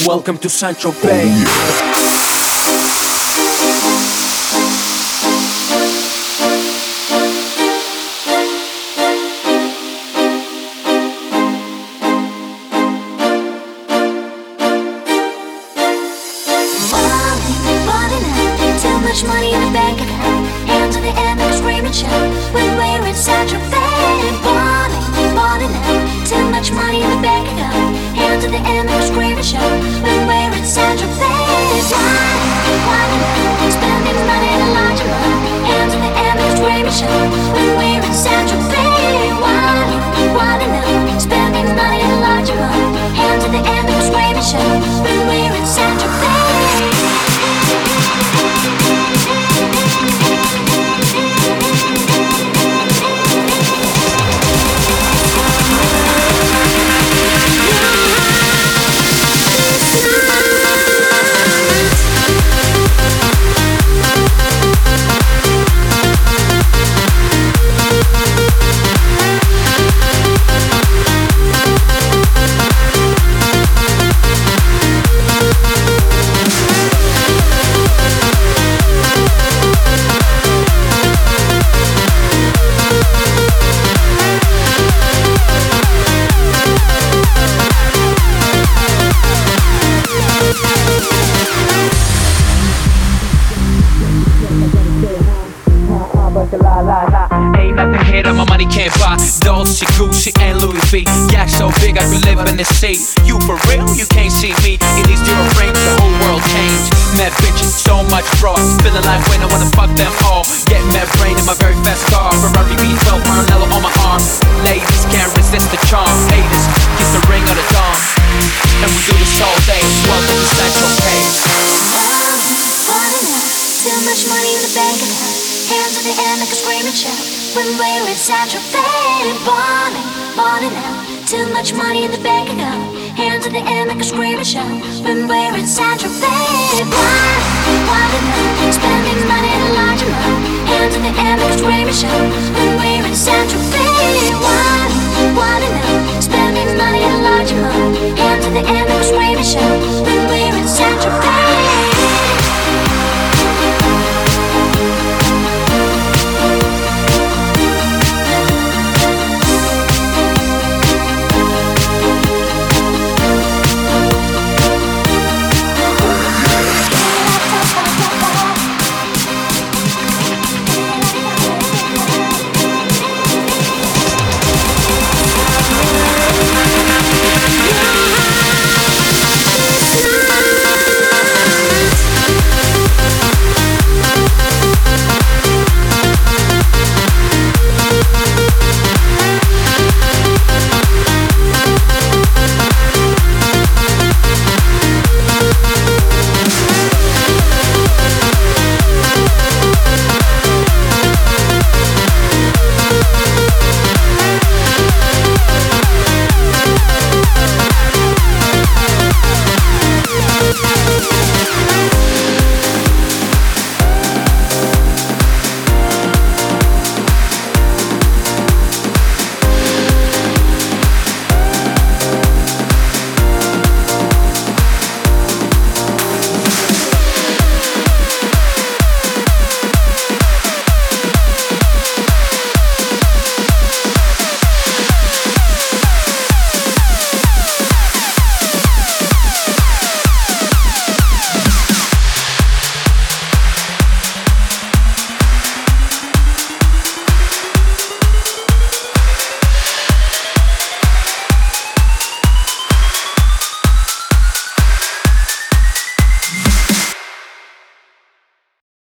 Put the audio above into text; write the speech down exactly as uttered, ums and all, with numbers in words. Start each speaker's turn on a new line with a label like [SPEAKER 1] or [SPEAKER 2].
[SPEAKER 1] Welcome to Central Bay.
[SPEAKER 2] Money in the bank account, hands on the end like a screaming shout. When we're in Central Bay, balling, balling out. Too much money in the bank account, hands on the end like a screaming shout. When we're in Central Bay, balling, balling out. Spending money in a large amount, hands on the end like a screaming shout. When we're in Central Bay, balling, balling out. Spending money in a large amount, hands on the end like a screaming shout. When we're in Central Bay.
[SPEAKER 1] La, la, la. Ain't nothing here that my money can't buy. Dolce, Gucci, and Louis V. Yak so big I could live in this seat. You for real? You can't see me in these zero rings. The whole world changed. Mad bitches, so much fraud. Feeling like when I wanna fuck them all. Get mad brain in my very fast car. Ferrari V twelve, Maranello on my arm. Ladies can't resist the charm. Haters, kiss the ring of the dawn. And we do this all day. Welcome to Central Bay.
[SPEAKER 2] Too much money in the bank account, hands on the end like a screaming shout. When we're in Central Bay, balling, balling out. Too much money in the bank account, hands on the end like a screaming shout. When we're in Central Bay, balling, balling out. Spending money in a large amount, hands on the end like a screaming shout. When we're in Central Bay, balling, balling out. Spending money in a large amount, hands on the end like a screaming shout.